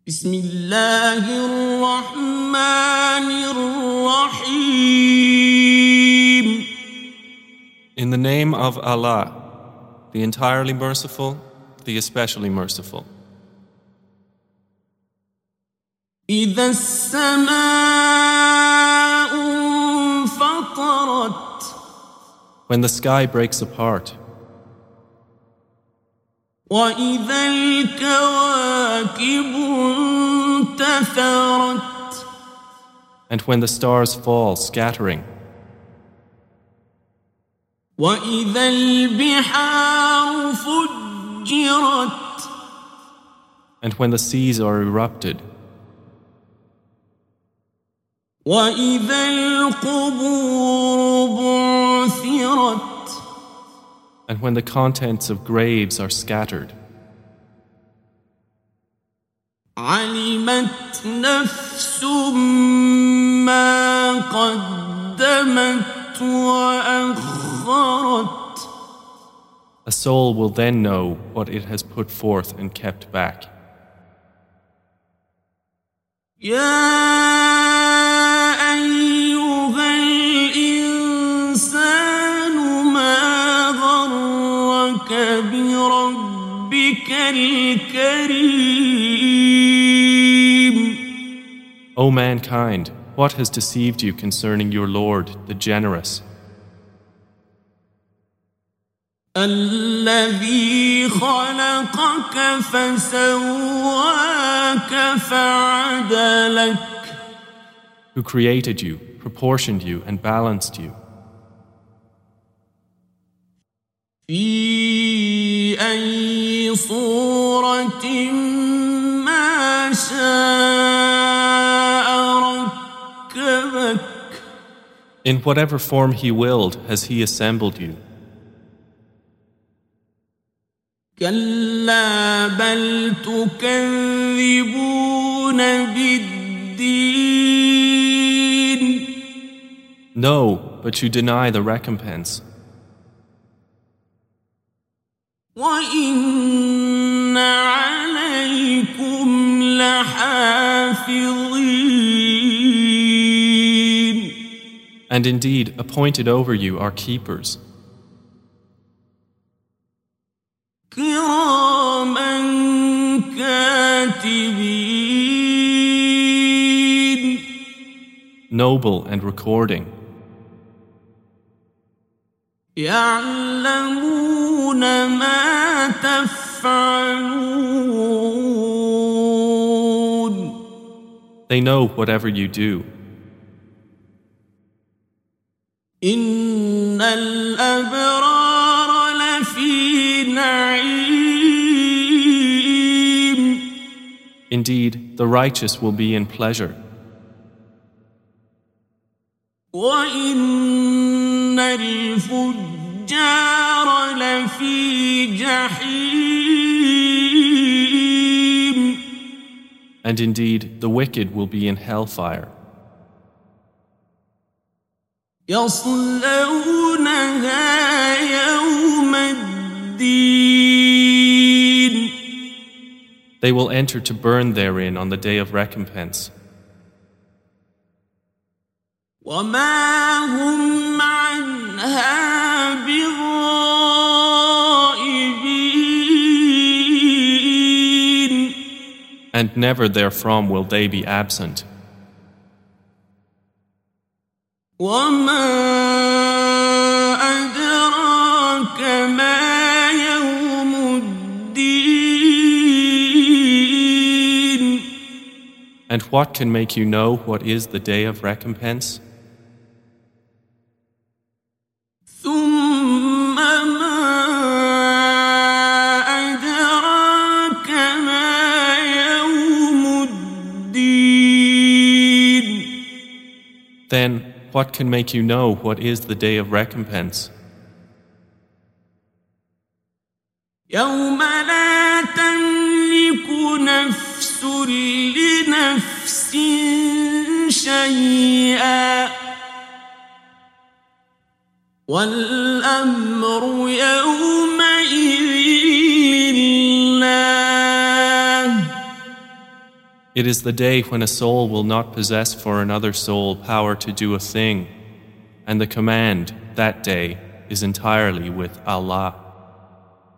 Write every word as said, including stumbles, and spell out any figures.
بسم الله الرحمن الرحيم. In the name of Allah, the entirely merciful, the especially merciful. إذا السماء انفطرت. When the sky breaks apart. وإذا الكواكب انتثرت. And when the stars fall scattering. وإذا البحار فجرت. And when the seas are erupted. وإذا القبور بعثرت. And when the contents of graves are scattered. علمت نفس ما قدمت وأخرت. A soul will then know what it has put forth and kept back. يا بربك الكريم. O mankind, what has deceived you concerning your Lord, the generous? الذي خلقك فسواك فعدلك. Who created you, proportioned you, and balanced you. في أي صورة ما شاء ركبك. In whatever form He willed has He assembled you. كلا بل تكذبون بالدين. No, but you deny the recompense. وَإِنَّ عَلَيْكُمْ لَحَافِظِينَ. And indeed, appointed over you are keepers. كِرَامًا كَاتِبِينَ. Noble and recording. يَعْلَمُونَ ما تفعلون. They know whatever you do. إن الأبرار لفي نعيم. Indeed, the righteous will be in pleasure. وإن الفجار لفي جحيم. And indeed, the wicked will be in hellfire. يصلونها يوم الدين. They will enter to burn therein on the day of recompense. وما هم عنها بغائبين. And never therefrom will they be absent. وما أدراك ما يوم الدين. And what can make you know what is the day of recompense? ثم ما أدراك ما يوم الدين. Then, what can make you know what is the day of recompense? يوم لا تملك نفس لنفس شيئا والأمر يومئذ لله It is the day when a soul will not possess for another soul power to do a thing, and the command that day is entirely with Allah.